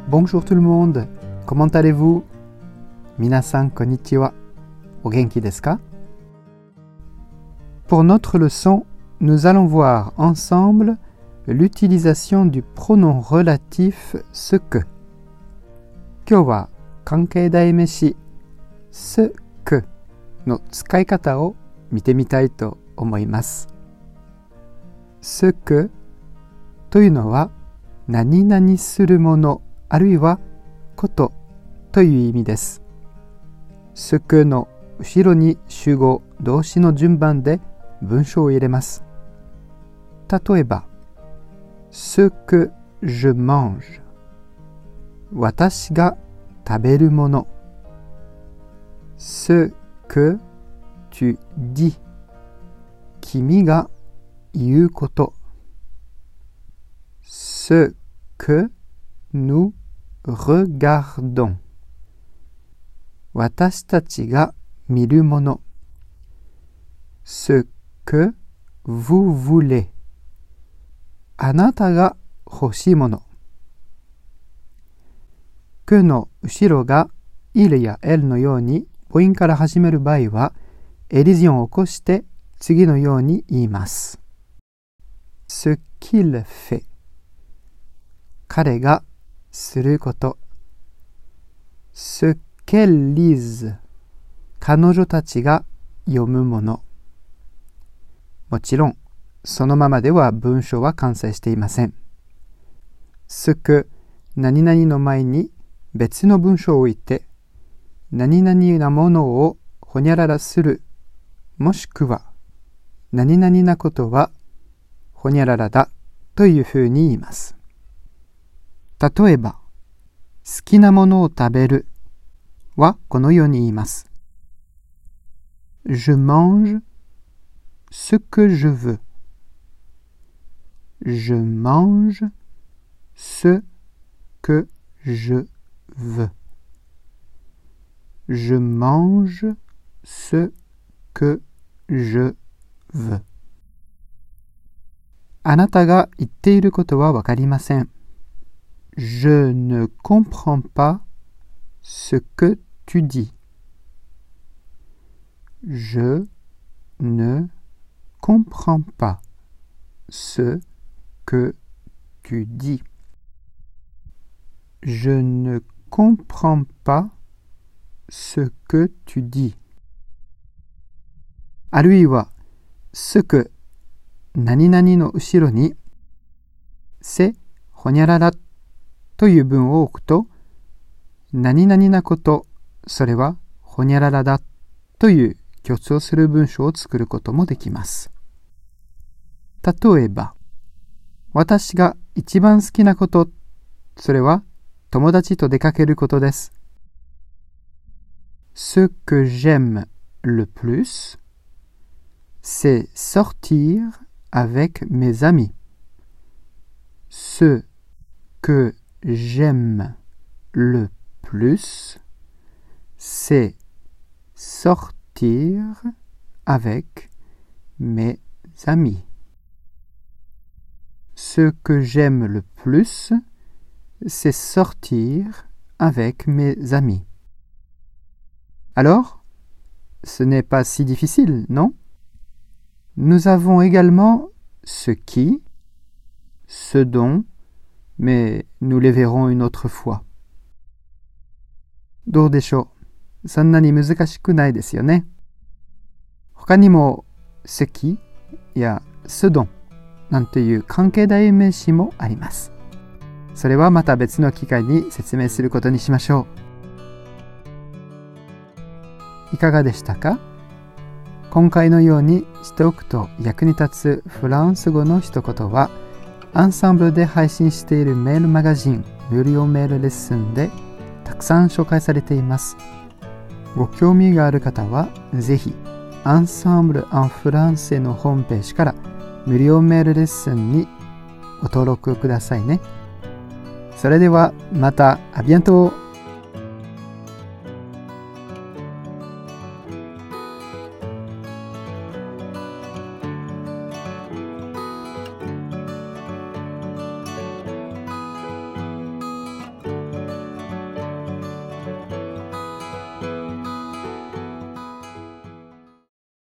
Bonjour tout le monde. Comment allez-vous? 皆さんこんにちは。お元気ですか? Pour notre leçon, nous allons voir ensemble l'utilisation du pronom relatif ce que. 今日は関係代名詞 ce que の使い方を見てみたいと思います。ce que というのは何々するものあるいはことという意味です。ce que の後ろに主語動詞の順番で文章を入れます。例えば、ce que je mange 私が食べるもの。ce que tu dis 君が言うこと。ce que nous regardons 私たちが見るもの。ce que vous voulez あなたが欲しいもの。que の後ろが il や elle のように母音から始める場合はエリジオンを起こして次のように言います。ce qu'il fait 彼がすること。ce qu'elle lise 彼女たちが読むもの。もちろんそのままでは文章は完成していません。ce que 何々の前に別の文章を置いて何々なものをほにゃららする、もしくは何々なことはほにゃららだというふうに言います。例えば、好きなものを食べるはこのように言います。Je mange ce que je veux. Je mange ce que je veux. Je mange ce que je veux. あなたが言っていることはわかりません。Je ne comprends pas ce que tu dis. Je ne comprends pas ce que tu dis. Je ne comprends pas ce que tu dis. あるいは、ce que 何々の後ろに、せ、ほにゃららという文を置くと、何々なこと、それはほにゃららだという強調する文章を作ることもできます。例えば、私が一番好きなこと、それは友達と出かけることです。Ce que j'aime le plus, c'est sortir avec mes amis. Ce que j'aime le plus, c'est sortir avec mes amis. Ce que j'aime le plus, c'est sortir avec mes amis. Alors, ce n'est pas si difficile, non? Nous avons également ce qui, ce dont, mais nous les verrons une autre fois. どうでしょう？そんなに難しくないですよね。他にも、ce quiやce dontなんていう関係代名詞もあります。それはまた別の機会に説明することにしましょう。いかがでしたか？今回のようにしておくと役に立つフランス語の一言は、アンサンブルで配信しているメールマガジン無料メールレッスンでたくさん紹介されています。ご興味がある方はぜひアンサンブル・アン・フランセのホームページから無料メールレッスンにご登録くださいね。それではまた、あビアントー。